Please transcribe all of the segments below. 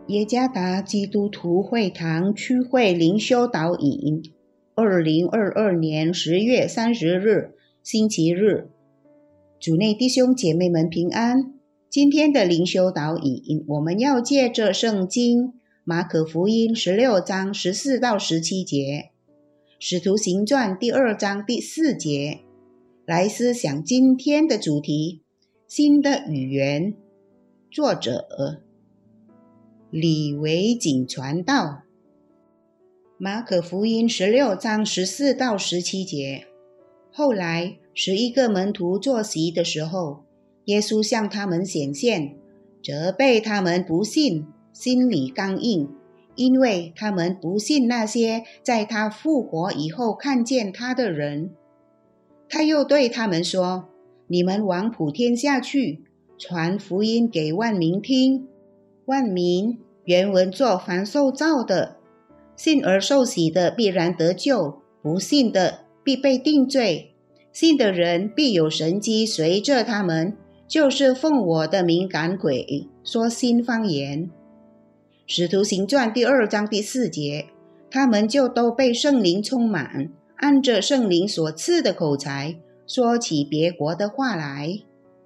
耶加达基督徒会堂区会灵修导引，2022年10月30日，星期日。主内弟兄姐妹们平安。今天的灵修导引，我们要借着圣经马可福音16章14到17节，使徒行传第2章第4节，来思想今天的主题：新的语言。作者李维景传道。马可福音16章14到17节。后来11个门徒坐席的时候，耶稣向他们显现，责备他们不信，心里刚硬，因为他们不信那些在他复活以后看见他的人。他又对他们说：你们往普天下去，传福音给万民听。万民原文作凡受造的，信而受洗的必然得救，不信的必被定罪。信的人必有神迹随着他们，就是奉我的名赶鬼，说新方言。使徒行传第2章第4节，他们就都被圣灵充满，按着圣灵所赐的口才，说起别国的话来。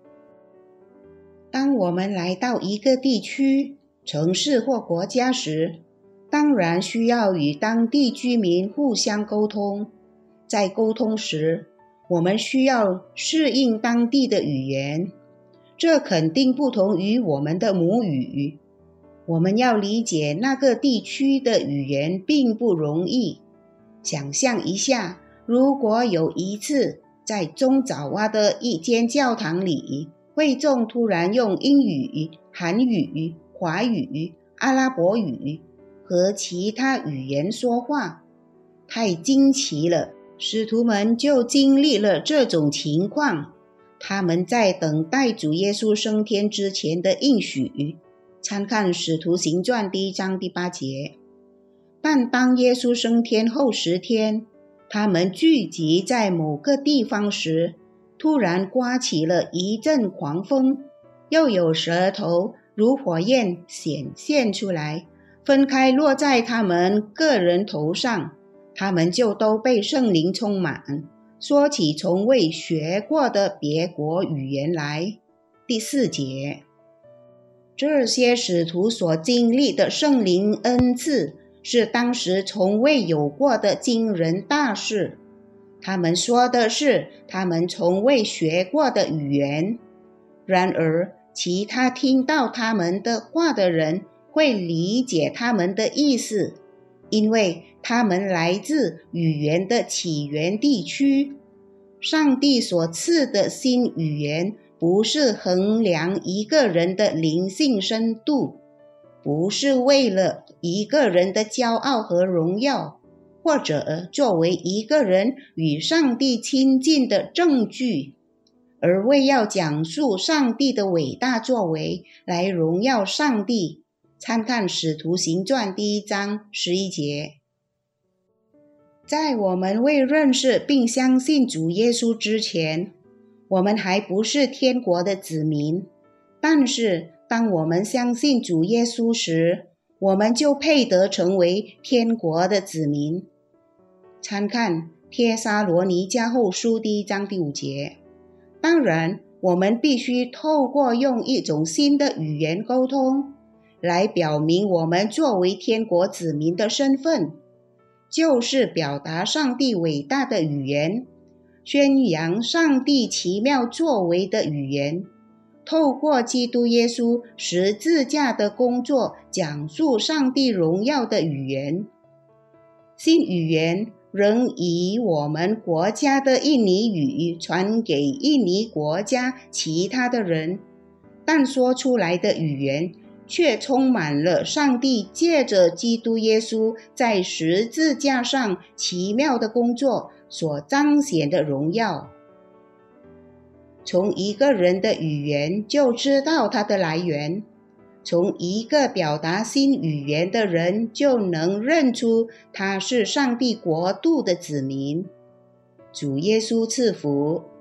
当我们来到一个地区、城市或国家时，当然需要与当地居民互相沟通。在沟通时，我们需要适应当地的语言，这肯定不同于我们的母语。我们要理解那个地区的语言并不容易。想象一下，如果有一次在中爪哇的一间教堂里，会众突然用英语、韩语、华语、阿拉伯语和其他语言说话，太惊奇了。使徒们就经历了这种情况，他们在等待主耶稣升天之前的应许，参看使徒行传1章第8节。但当耶稣升天后10天，他们聚集在某个地方时，突然刮起了一阵狂风，又有舌头如火焰显现出来，分开落在他们个人头上，他们就都被圣灵充满，说起从未学过的别国语言来。第4节，这些使徒所经历的圣灵恩赐，是当时从未有过的惊人大事。他们说的是他们从未学过的语言，然而其他听到他们的话的人会理解他们的意思，因为他们来自语言的起源地区。上帝所赐的新语言不是衡量一个人的灵性深度，不是为了一个人的骄傲和荣耀，或者作为一个人与上帝亲近的证据，而为要讲述上帝的伟大作为来荣耀上帝。参看使徒行传1章11节。在我们未认识并相信主耶稣之前，我们还不是天国的子民，但是当我们相信主耶稣时，我们就配得成为天国的子民。参看帖撒罗尼迦后书1章第5节。当然，我们必须透过用一种新的语言沟通，来表明我们作为天国子民的身份，就是表达上帝伟大的语言，宣扬上帝奇妙作为的语言，透过基督耶稣十字架的工作，讲述上帝荣耀的语言。新语言仍以我们国家的印尼语传给印尼国家其他的人，但说出来的语言却充满了上帝借着基督耶稣在十字架上奇妙的工作所彰显的荣耀。从一个人的语言就知道它的来源，从一个表达新语言的人就能认出他是上帝国度的子民。主耶稣赐福。